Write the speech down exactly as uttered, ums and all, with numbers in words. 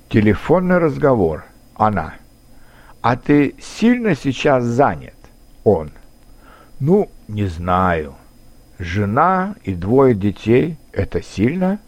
Телефонный разговор. Она. «А ты сильно сейчас занят?» Он. «Ну, не знаю. Жена и двое детей – это сильно?»